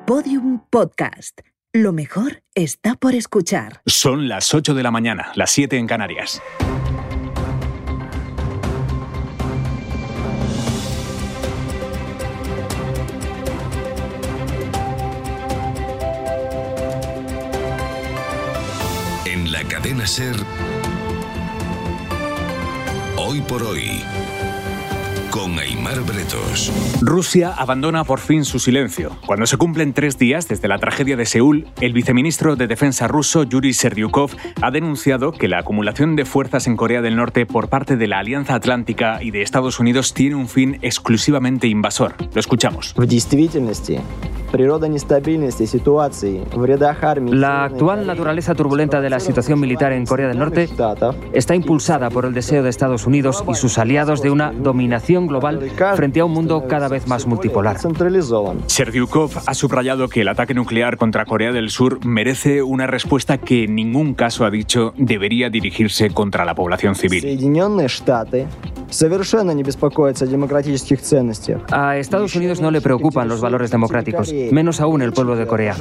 Podium Podcast. Lo mejor está por escuchar. Son las 8 de la mañana, las 7 en Canarias. En la cadena SER, Hoy por Hoy, con Aimar Bretos. Rusia abandona por fin su silencio. Cuando se cumplen 3 días desde la tragedia de Seúl, el viceministro de Defensa ruso, Yuri Serdyukov, ha denunciado que la acumulación de fuerzas en Corea del Norte por parte de la Alianza Atlántica y de Estados Unidos tiene un fin exclusivamente invasor. Lo escuchamos. La actual naturaleza turbulenta de la situación militar en Corea del Norte está impulsada por el deseo de Estados Unidos y sus aliados de una dominación global frente a un mundo cada vez más multipolar. Serdyukov ha subrayado que el ataque nuclear contra Corea del Sur merece una respuesta que en ningún caso, ha dicho, debería dirigirse contra la población civil. A Estados Unidos no le preocupan los valores democráticos, menos aún el pueblo de Corea.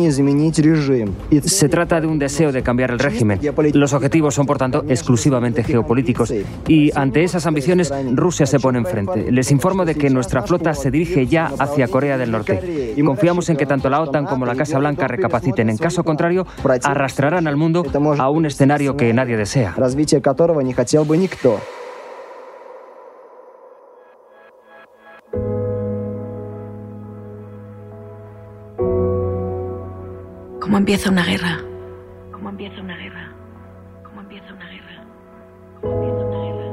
Se trata de un deseo de cambiar el régimen. Los objetivos son, por tanto, exclusivamente geopolíticos. Y ante esas ambiciones, Rusia se pone enfrente. Les informo de que nuestra flota se dirige ya hacia Corea del Norte. Confiamos en que tanto la OTAN como la Casa Blanca recapaciten. En caso contrario, arrastrarán al mundo a un escenario que nadie desea. ¿Cómo empieza una guerra? ¿Cómo empieza una guerra? ¿Cómo empieza una guerra? ¿Cómo empieza una guerra?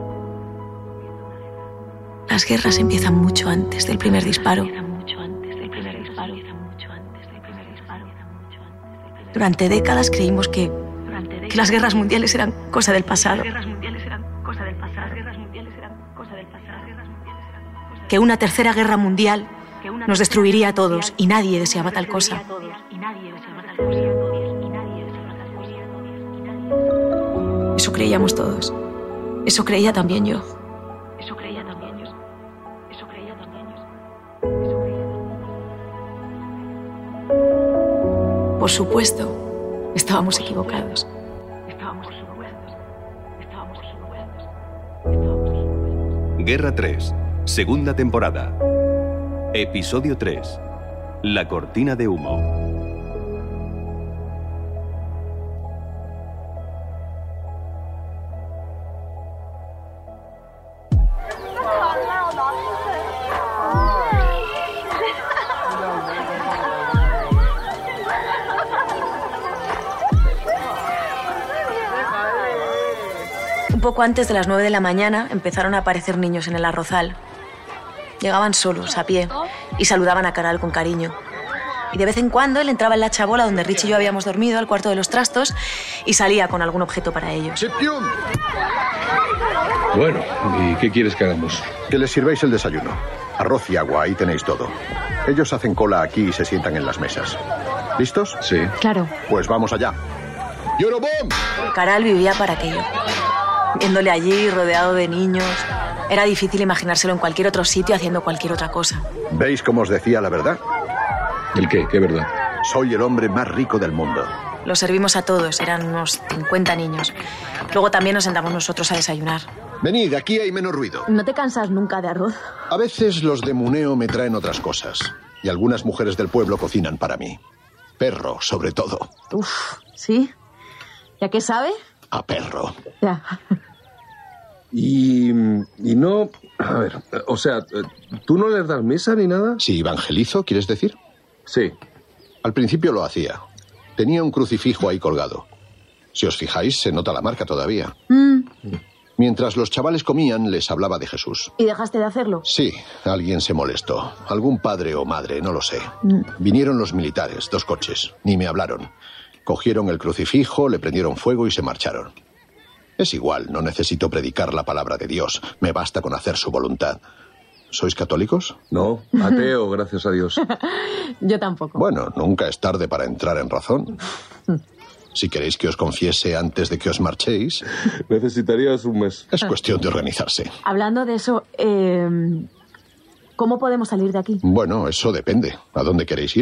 Las guerras empiezan mucho antes del primer disparo. Durante décadas creímos que las guerras mundiales eran cosa del pasado. Que una tercera guerra mundial nos destruiría a todos y nadie deseaba tal cosa. Eso creíamos todos. Eso creía también yo. Por supuesto, estábamos equivocados. Guerra 3, segunda temporada. Episodio 3. La cortina de humo. Un poco antes de las 9 de la mañana empezaron a aparecer niños en el arrozal. Llegaban solos, a pie, y saludaban a Caral con cariño. Y de vez en cuando él entraba en la chabola donde Rich y yo habíamos dormido, al cuarto de los trastos, y salía con algún objeto para ellos. Bueno, ¿y qué quieres que hagamos? Que les sirváis el desayuno. Arroz y agua, ahí tenéis todo. Ellos hacen cola aquí y se sientan en las mesas. ¿Listos? Sí. Claro. Pues vamos allá. ¡Eurobomb! Caral vivía para aquello. Viéndole allí, rodeado de niños, era difícil imaginárselo en cualquier otro sitio haciendo cualquier otra cosa. ¿Veis cómo os decía la verdad? ¿El qué? ¿Qué verdad? Soy el hombre más rico del mundo. Los servimos a todos, eran unos 50 niños. Luego también nos sentamos nosotros a desayunar. Venid, aquí hay menos ruido. ¿No te cansas nunca de arroz? A veces los de Muneo me traen otras cosas. Y algunas mujeres del pueblo cocinan para mí. Perro, sobre todo. Uf, ¿sí? ¿Y a qué sabe? A perro. Ya. Y no... A ver, o sea, ¿tú no les das misa ni nada? Si evangelizo, ¿quieres decir? Sí. Al principio lo hacía. Tenía un crucifijo ahí colgado. Si os fijáis, se nota la marca todavía. Mientras los chavales comían, les hablaba de Jesús. ¿Y dejaste de hacerlo? Sí, alguien se molestó. Algún padre o madre, no lo sé. Vinieron los militares, 2 coches. Ni me hablaron. Cogieron el crucifijo, le prendieron fuego y se marcharon. Es igual, no necesito predicar la palabra de Dios. Me basta con hacer su voluntad. ¿Sois católicos? No, ateo, gracias a Dios. Yo tampoco. Bueno, nunca es tarde para entrar en razón. Si queréis que os confiese antes de que os marchéis... Necesitarías un mes. Es cuestión de organizarse. Hablando de eso, ¿cómo podemos salir de aquí? Bueno, eso depende. ¿A dónde queréis ir?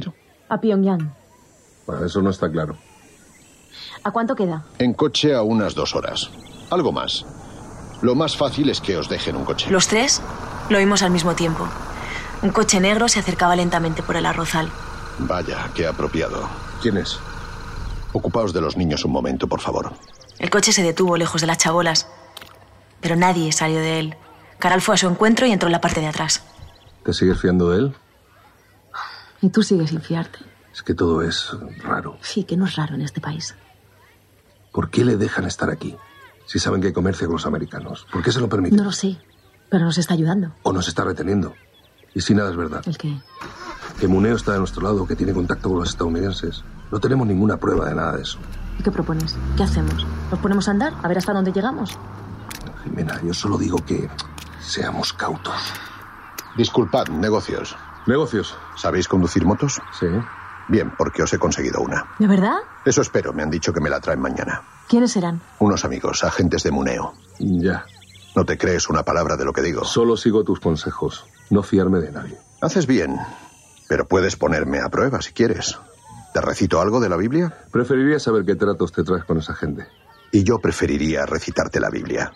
A Pyongyang. Bueno, eso no está claro. ¿A cuánto queda? En coche a unas 2 horas. Algo más. Lo más fácil es que os dejen un coche. Los tres lo vimos al mismo tiempo. Un coche negro se acercaba lentamente por el arrozal. Vaya, qué apropiado. ¿Quién es? Ocupaos de los niños un momento, por favor. El coche se detuvo lejos de las chabolas, pero nadie salió de él. Caral fue a su encuentro y entró en la parte de atrás. ¿Te sigues fiando de él? Y tú sigues sin fiarte. Es que todo es raro. Sí, que no es raro en este país. ¿Por qué le dejan estar aquí? Si saben que comercia con los americanos. ¿Por qué se lo permiten? No lo sé, pero nos está ayudando. ¿O nos está reteniendo? ¿Y si nada es verdad? ¿El qué? Que Muneo está de nuestro lado, que tiene contacto con los estadounidenses. No tenemos ninguna prueba de nada de eso. ¿Y qué propones? ¿Qué hacemos? ¿Nos ponemos a andar? A ver hasta dónde llegamos. Jimena, yo solo digo que seamos cautos. Disculpad, negocios. ¿Negocios? ¿Sabéis conducir motos? Sí. Bien, porque os he conseguido una. ¿De verdad? Eso espero, me han dicho que me la traen mañana. ¿Quiénes serán? Unos amigos, agentes de Muneo. Ya. No te crees una palabra de lo que digo. Solo sigo tus consejos. No fiarme de nadie. Haces bien, pero puedes ponerme a prueba si quieres. ¿Te recito algo de la Biblia? Preferiría saber qué tratos te traes con esa gente. Y yo preferiría recitarte la Biblia.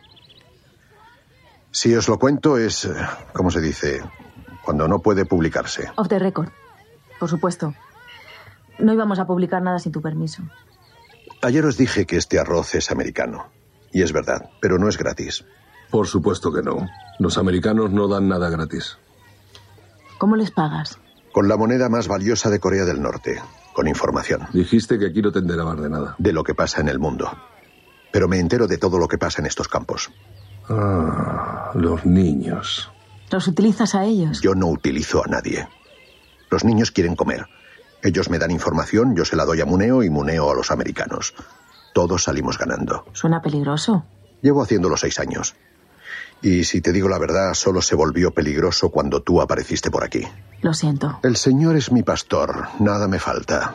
Si os lo cuento es, ¿cómo se dice? Cuando no puede publicarse. Off the record. Por supuesto. No íbamos a publicar nada sin tu permiso. Ayer os dije que este arroz es americano. Y es verdad, pero no es gratis. Por supuesto que no. Los americanos no dan nada gratis. ¿Cómo les pagas? Con la moneda más valiosa de Corea del Norte. Con información. Dijiste que aquí no te enterabas de nada. De lo que pasa en el mundo. Pero me entero de todo lo que pasa en estos campos. Ah, los niños. ¿Los utilizas a ellos? Yo no utilizo a nadie. Los niños quieren comer. Ellos me dan información, yo se la doy a Muneo y Muneo a los americanos. Todos salimos ganando. Suena peligroso. Llevo haciéndolo 6 años. Y si te digo la verdad, solo se volvió peligroso cuando tú apareciste por aquí. Lo siento. El Señor es mi pastor, nada me falta.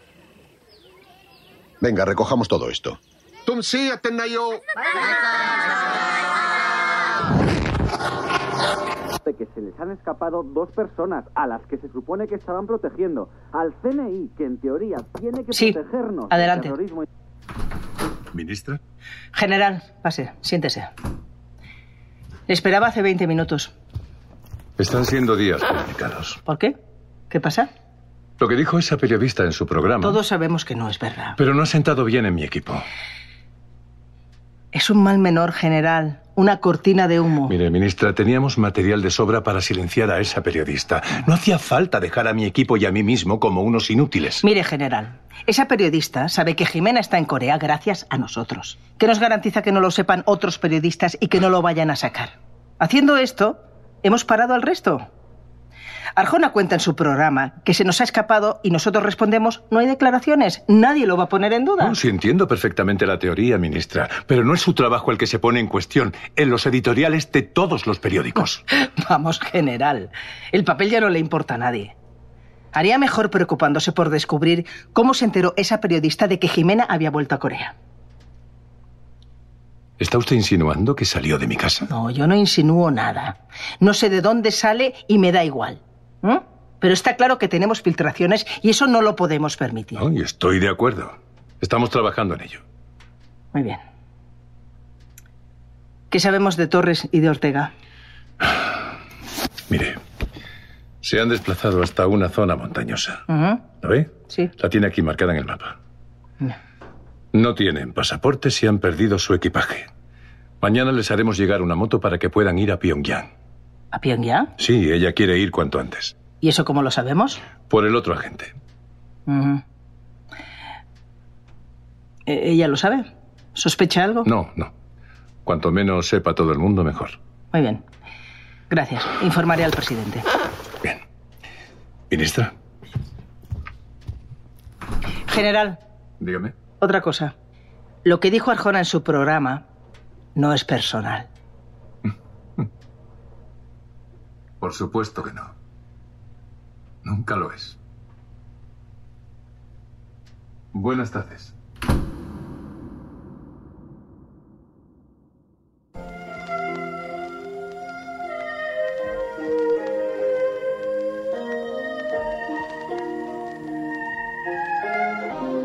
Venga, recojamos todo esto. De que se les han escapado 2 personas a las que se supone que estaban protegiendo. Al CNI, que en teoría tiene que protegernos. Adelante. Del terrorismo. ¿Ministra? General, pase, siéntese. Le esperaba hace 20 minutos. Están siendo días complicados. ¿Por qué? ¿Qué pasa? Lo que dijo esa periodista en su programa. Todos sabemos que no es verdad. Pero no ha sentado bien en mi equipo. Es un mal menor, general. Una cortina de humo. Mire, ministra, teníamos material de sobra para silenciar a esa periodista. No hacía falta dejar a mi equipo y a mí mismo como unos inútiles. Mire, general, esa periodista sabe que Jimena está en Corea gracias a nosotros. ¿Qué nos garantiza que no lo sepan otros periodistas y que no lo vayan a sacar? Haciendo esto, hemos parado al resto. Arjona cuenta en su programa que se nos ha escapado y nosotros respondemos, no hay declaraciones, nadie lo va a poner en duda. No, sí entiendo perfectamente la teoría, ministra, pero no es su trabajo el que se pone en cuestión en los editoriales de todos los periódicos. Vamos, general, el papel ya no le importa a nadie. Haría mejor preocupándose por descubrir cómo se enteró esa periodista de que Jimena había vuelto a Corea. ¿Está usted insinuando que salió de mi casa? No, yo no insinúo nada. No sé de dónde sale y me da igual. Pero está claro que tenemos filtraciones y eso no lo podemos permitir. No, y estoy de acuerdo. Estamos trabajando en ello. Muy bien. ¿Qué sabemos de Torres y de Ortega? Mire, se han desplazado hasta una zona montañosa. ¿Lo ve? Sí. La tiene aquí marcada en el mapa. No tienen pasaportes y han perdido su equipaje. Mañana les haremos llegar una moto para que puedan ir a Pyongyang. ¿A Pyongyang? Sí, ella quiere ir cuanto antes. ¿Y eso cómo lo sabemos? Por el otro agente. ¿Ella lo sabe? ¿Sospecha algo? No. Cuanto menos sepa todo el mundo, mejor. Muy bien. Gracias. Informaré al presidente. Bien. Ministra. General. Dígame. Otra cosa. Lo que dijo Arjona en su programa no es personal. Por supuesto que no. Nunca lo es. Buenas tardes.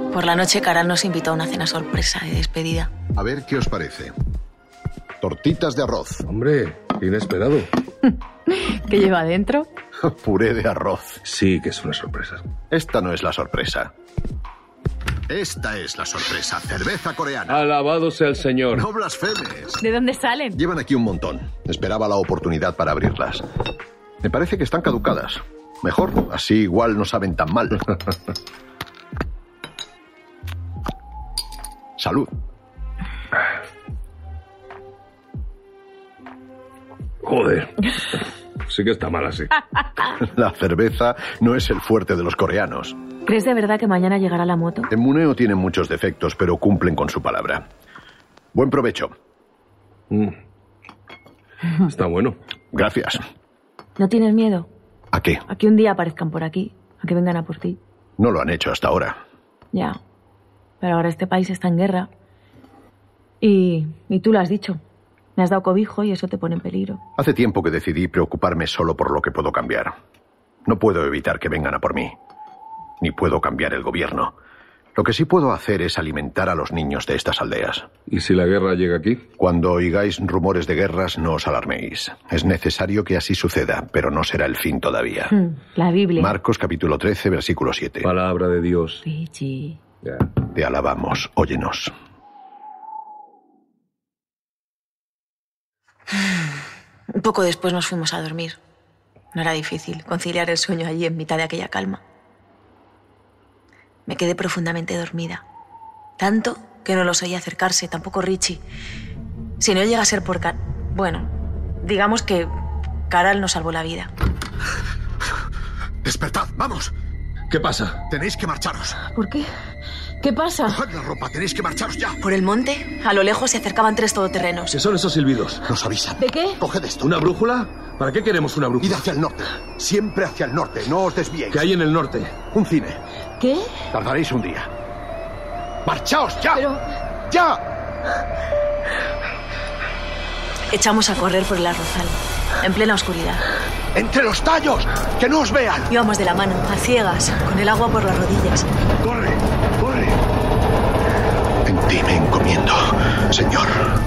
Por la noche, Caral nos invitó a una cena sorpresa de despedida. A ver, ¿qué os parece? Tortitas de arroz. Hombre, inesperado. ¿Qué lleva adentro? Puré de arroz. Sí, que es una sorpresa. Esta no es la sorpresa. Esta es la sorpresa. Cerveza coreana. Alabado sea el Señor. No blasfemes. ¿De dónde salen? Llevan aquí un montón. Esperaba la oportunidad para abrirlas. Me parece que están caducadas. Mejor, así igual no saben tan mal. Salud. Joder. Sí que está mal así. La cerveza no es el fuerte de los coreanos. ¿Crees de verdad que mañana llegará la moto? En Muneo tienen muchos defectos, pero cumplen con su palabra. Buen provecho. Está bueno. Gracias. ¿No tienes miedo? ¿A qué? A que un día aparezcan por aquí, a que vengan a por ti. No lo han hecho hasta ahora. Ya. Pero ahora este país está en guerra. Y tú lo has dicho. Me has dado cobijo y eso te pone en peligro. Hace tiempo que decidí preocuparme solo por lo que puedo cambiar. No puedo evitar que vengan a por mí. Ni puedo cambiar el gobierno. Lo que sí puedo hacer es alimentar a los niños de estas aldeas. ¿Y si la guerra llega aquí? Cuando oigáis rumores de guerras, no os alarméis. Es necesario que así suceda, pero no será el fin todavía. La Biblia. Marcos capítulo 13, versículo 7. Palabra de Dios. Richie. Ya. Te alabamos, óyenos. Un poco después nos fuimos a dormir. No era difícil conciliar el sueño allí en mitad de aquella calma. Me quedé profundamente dormida. Tanto que no los oí acercarse, tampoco Richie. Si no llega a ser por bueno, digamos que Caral nos salvó la vida. ¡Despertad! ¡Vamos! ¿Qué pasa? Tenéis que marcharos. ¿Por qué? ¿Qué pasa? Coged la ropa, tenéis que marcharos ya. Por el monte, a lo lejos, se acercaban 3 todoterrenos. ¿Qué son esos silbidos? Nos avisan. ¿De qué? Coged esto. ¿Una brújula? ¿Para qué queremos una brújula? Id hacia el norte. Siempre hacia el norte. No os desviéis. ¿Qué hay en el norte? Un cine. ¿Qué? Tardaréis un día. ¡Marchaos ya! Pero... ¡Ya! Echamos a correr por el arrozal, en plena oscuridad. ¡Entre los tallos! ¡Que no os vean! Íbamos de la mano, a ciegas, con el agua por las rodillas. ¡Corre! ¡Corre! En ti me encomiendo, Señor.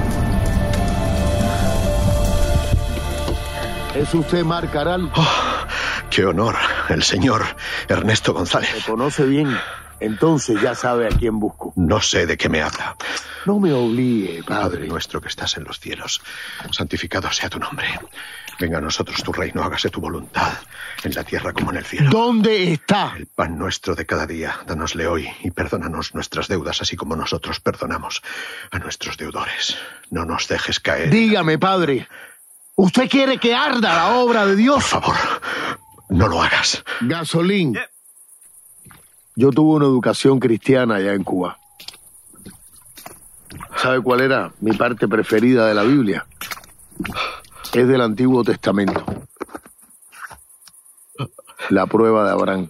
¿Es usted Marc Caral? Oh, ¡qué honor! El señor Ernesto González. Me conoce bien. Entonces ya sabe a quién busco. No sé de qué me habla. No me obligue, Padre nuestro que estás en los cielos, santificado sea tu nombre. Venga a nosotros tu reino, hágase tu voluntad, en la tierra como en el cielo. ¿Dónde está? El pan nuestro de cada día, danosle hoy y perdónanos nuestras deudas, así como nosotros perdonamos a nuestros deudores. No nos dejes caer. Dígame, Padre, ¿usted quiere que arda la obra de Dios? Por favor, no lo hagas. Gasolín. Yo tuve una educación cristiana allá en Cuba. ¿Sabe cuál era mi parte preferida de la Biblia? Es del Antiguo Testamento. La prueba de Abraham.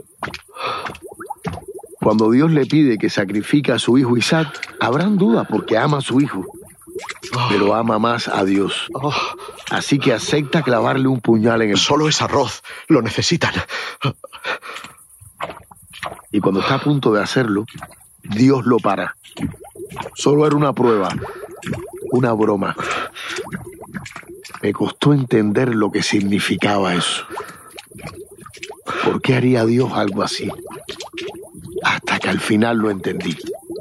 Cuando Dios le pide que sacrifique a su hijo Isaac, Abraham duda porque ama a su hijo, pero ama más a Dios. Así que acepta clavarle un puñal en el... Solo es arroz, lo necesitan. Y cuando está a punto de hacerlo, Dios lo para. Solo era una prueba, una broma. Me costó entender lo que significaba eso. ¿Por qué haría Dios algo así? Hasta que al final lo entendí.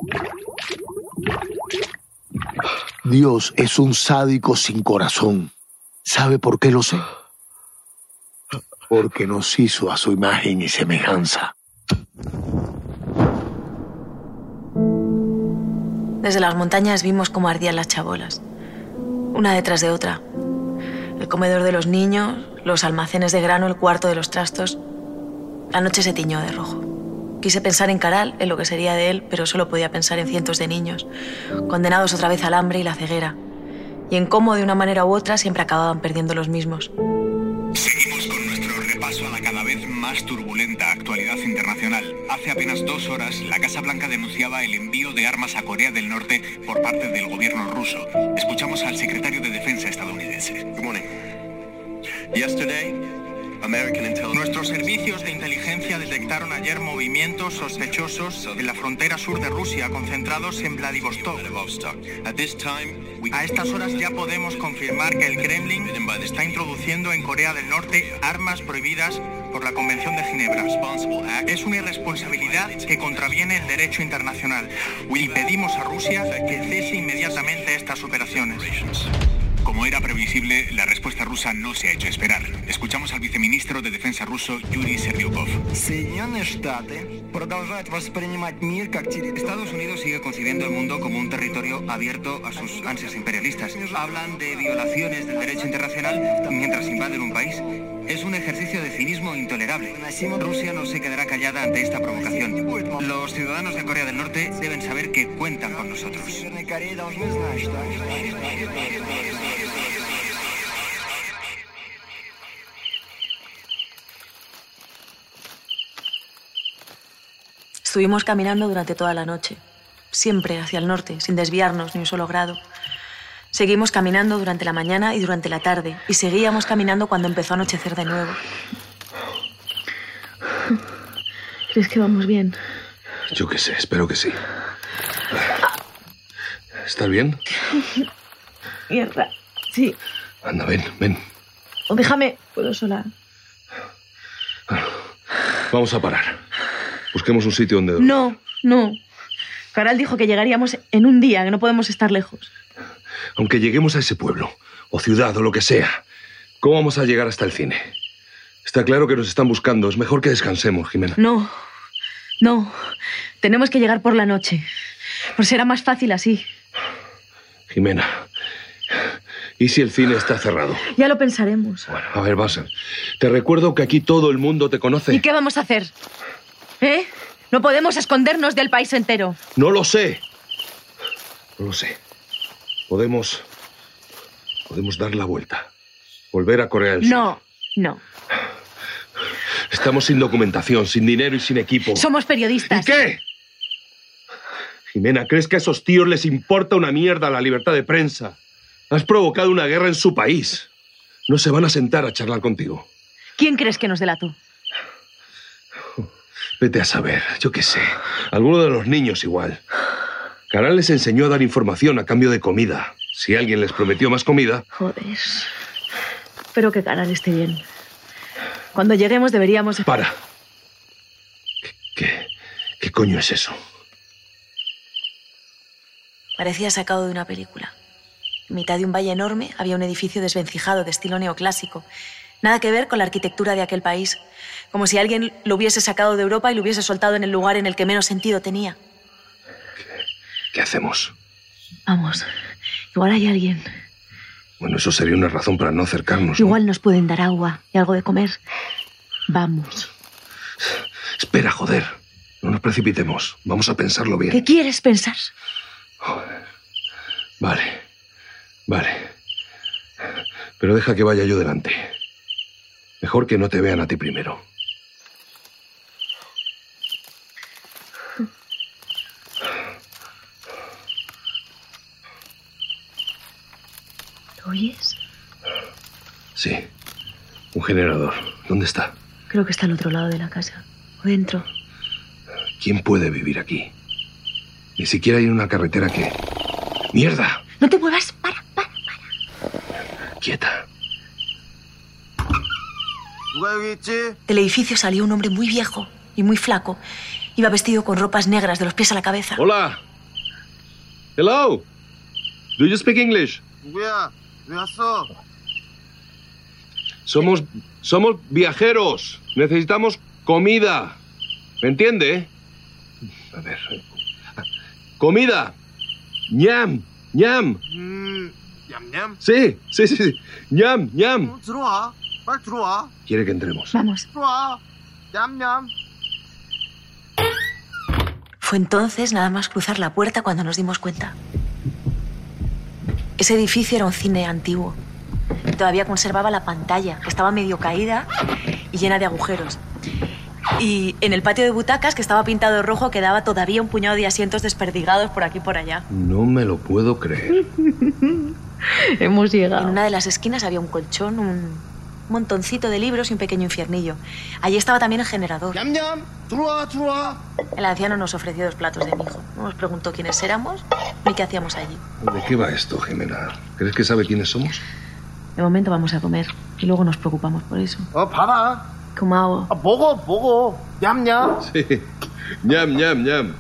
Dios es un sádico sin corazón. ¿Sabe por qué lo sé? Porque nos hizo a su imagen y semejanza. Desde las montañas vimos cómo ardían las chabolas, una detrás de otra. El comedor de los niños, los almacenes de grano, el cuarto de los trastos. La noche se tiñó de rojo. Quise pensar en Caral, en lo que sería de él, pero solo podía pensar en cientos de niños, condenados otra vez al hambre y la ceguera, y en cómo, de una manera u otra, siempre acababan perdiendo los mismos. Seguimos con nuestro repaso a la cada vez más turbulenta actualidad internacional. Hace apenas 2 horas, la Casa Blanca denunciaba el envío de armas a Corea del Norte por parte del gobierno ruso. Escuchamos al secretario de Defensa estadounidense. Good morning. Yesterday, Nuestros servicios de inteligencia detectaron ayer movimientos sospechosos en la frontera sur de Rusia, concentrados en Vladivostok. A estas horas ya podemos confirmar que el Kremlin está introduciendo en Corea del Norte armas prohibidas por la Convención de Ginebra. Es una irresponsabilidad que contraviene el derecho internacional y pedimos a Rusia que cese inmediatamente estas operaciones. Como era previsible, la respuesta rusa no se ha hecho esperar. Escuchamos al viceministro de Defensa ruso, Yuri Serdyukov. Estados Unidos sigue concibiendo el mundo como un territorio abierto a sus ansias imperialistas. Hablan de violaciones del derecho internacional mientras invaden un país. Es un ejercicio de cinismo intolerable. Rusia no se quedará callada ante esta provocación. Los ciudadanos de Corea del Norte deben saber que cuentan con nosotros. Estuvimos caminando durante toda la noche, siempre hacia el norte, sin desviarnos ni un solo grado. Seguimos caminando durante la mañana y durante la tarde, y seguíamos caminando cuando empezó a anochecer de nuevo. ¿Crees que vamos bien? Yo qué sé, espero que sí. ¿Estás bien? Mierda, sí. Anda, ven. O déjame, puedo sola. Vamos a parar. Busquemos un sitio donde dormir. No. Caral dijo que llegaríamos en un día, que no podemos estar lejos. Aunque lleguemos a ese pueblo, o ciudad, o lo que sea, ¿cómo vamos a llegar hasta el cine? Está claro que nos están buscando. Es mejor que descansemos, Jimena. No. Tenemos que llegar por la noche. Pues será más fácil así. Jimena, ¿y si el cine está cerrado? Ya lo pensaremos. Bueno, a ver, Basel. Te recuerdo que aquí todo el mundo te conoce. ¿Y qué vamos a hacer? No podemos escondernos del país entero. No lo sé. Podemos dar la vuelta. Volver a Corea del Sur. No. Estamos sin documentación, sin dinero y sin equipo. Somos periodistas. ¿Y qué? Jimena, ¿crees que a esos tíos les importa una mierda la libertad de prensa? Has provocado una guerra en su país. No se van a sentar a charlar contigo. ¿Quién crees que nos delató? Vete a saber, yo qué sé. Alguno de los niños igual. Caral les enseñó a dar información a cambio de comida. Si alguien les prometió más comida... Joder. Espero que Caral esté bien. Cuando lleguemos deberíamos... Para. ¿Qué coño es eso? Parecía sacado de una película. En mitad de un valle enorme había un edificio desvencijado de estilo neoclásico. Nada que ver con la arquitectura de aquel país. Como si alguien lo hubiese sacado de Europa y lo hubiese soltado en el lugar en el que menos sentido tenía. ¿Qué hacemos? Vamos. Igual hay alguien. Bueno, eso sería una razón para no acercarnos. Igual nos pueden dar agua y algo de comer. Vamos. Espera, joder. No nos precipitemos. Vamos a pensarlo bien. ¿Qué quieres pensar? Joder. Vale. Pero deja que vaya yo delante. Mejor que no te vean a ti primero. ¿Lo oyes? Sí. Un generador. ¿Dónde está? Creo que está al otro lado de la casa. O dentro. ¿Quién puede vivir aquí? Ni siquiera hay una carretera que... ¡Mierda! No te muevas. Para. Quieta. Del edificio salió un hombre muy viejo y muy flaco. Iba vestido con ropas negras de los pies a la cabeza. Hola. Hello. Do you speak English? Somos viajeros. Necesitamos comida. ¿Me entiende? A ver. Comida. Ñam. Sí. Ñam. Quiere que entremos. Vamos. Fue entonces nada más cruzar la puerta cuando nos dimos cuenta. Ese edificio era un cine antiguo. Todavía conservaba la pantalla, que estaba medio caída y llena de agujeros. Y en el patio de butacas, que estaba pintado de rojo, quedaba todavía un puñado de asientos desperdigados por aquí y por allá. No me lo puedo creer. Hemos llegado. En una de las esquinas había un colchón, un un montoncito de libros y un pequeño infiernillo. Allí estaba también el generador. El anciano nos ofreció 2 platos de mijo. No nos preguntó quiénes éramos ni qué hacíamos allí. ¿De qué va esto, Jimena? ¿Crees que sabe quiénes somos? De momento vamos a comer y luego nos preocupamos por eso. 봐봐. 고마워. 보고. 냠냠. Sí. ñam.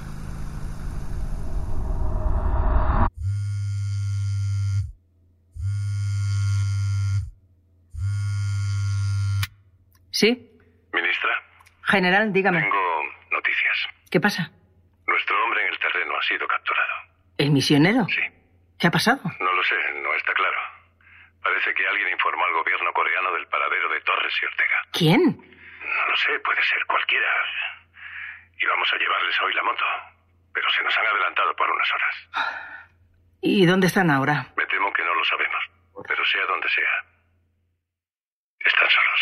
¿Sí? Ministra. General, dígame. Tengo noticias. ¿Qué pasa? Nuestro hombre en el terreno ha sido capturado. ¿El misionero? Sí. ¿Qué ha pasado? No lo sé, no está claro. Parece que alguien informó al gobierno coreano del paradero de Torres y Ortega. ¿Quién? No lo sé, puede ser cualquiera. Íbamos a llevarles hoy la moto, pero se nos han adelantado por unas horas. ¿Y dónde están ahora? Me temo que no lo sabemos, pero sea donde sea. Están solos.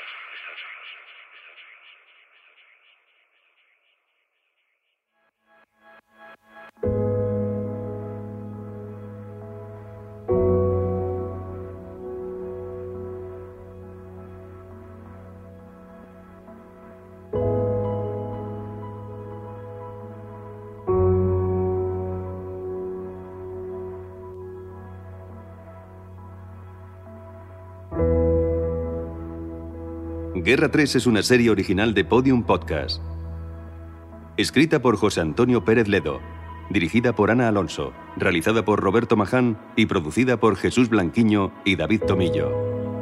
Guerra 3 es una serie original de Podium Podcast. Escrita por José Antonio Pérez Ledo, dirigida por Ana Alonso, realizada por Roberto Maján y producida por Jesús Blanquiño y David Tomillo.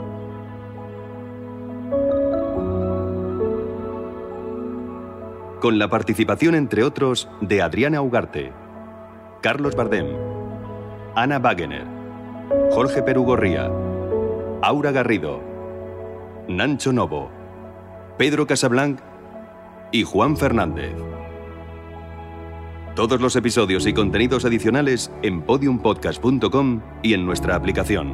Con la participación, entre otros, de Adriana Ugarte, Carlos Bardem, Ana Wagener, Jorge Perugorría, Aura Garrido, Nancho Novo, Pedro Casablanc y Juan Fernández. Todos los episodios y contenidos adicionales en podiumpodcast.com y en nuestra aplicación.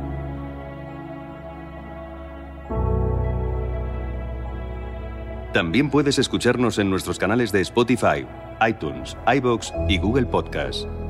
También puedes escucharnos en nuestros canales de Spotify, iTunes, iVoox y Google Podcast.